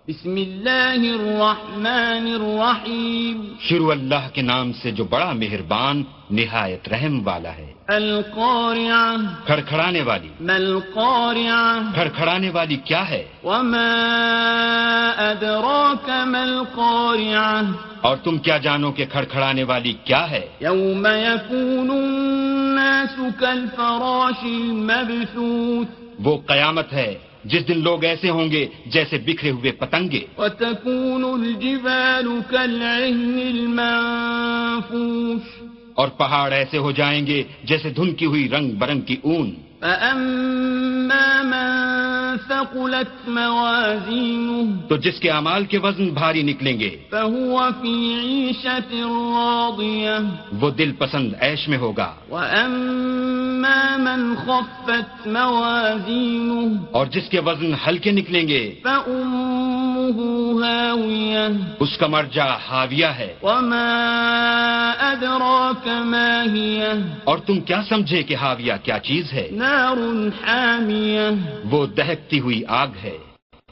بسم اللہ الرحمن الرحیم. شروع اللہ کے نام سے جو بڑا مہربان نہایت رحم والا ہے. القارعہ کھڑکھڑانے والی. ما القارعہ کھڑکھڑانے والی کیا ہے؟ وما ادراک ما القارعہ اور تم کیا جانو کہ کھڑکھڑانے والی کیا ہے؟ یوم یکون الناس کالفراش المبثوث وہ قیامت ہے جس دن لوگ ایسے ہوں گے جیسے بکھرے ہوئے پتنگے. وتكون الجبال كالعهن المنفوش اور پہاڑ ایسے ہو جائیں گے جیسے دھنکی ہوئی رنگ برنگ کی اون. فأما من ثقلت موازينه تو جس کے اعمال کے وزن بھاری نکلیں گے فهو في عيشة راضية وہ دل پسند عیش میں ہوگا. وأما من خفت موازينه اور جس کے وزن ہلکے نکلیں گے فأمه هاوية اس کا مرجع حاویہ ہے. وما أدراك ما هي اور تم کیا سمجھے کہ حاویہ کیا چیز ہے؟ نار حامية وہ دہکتی ہوئی آگ ہے.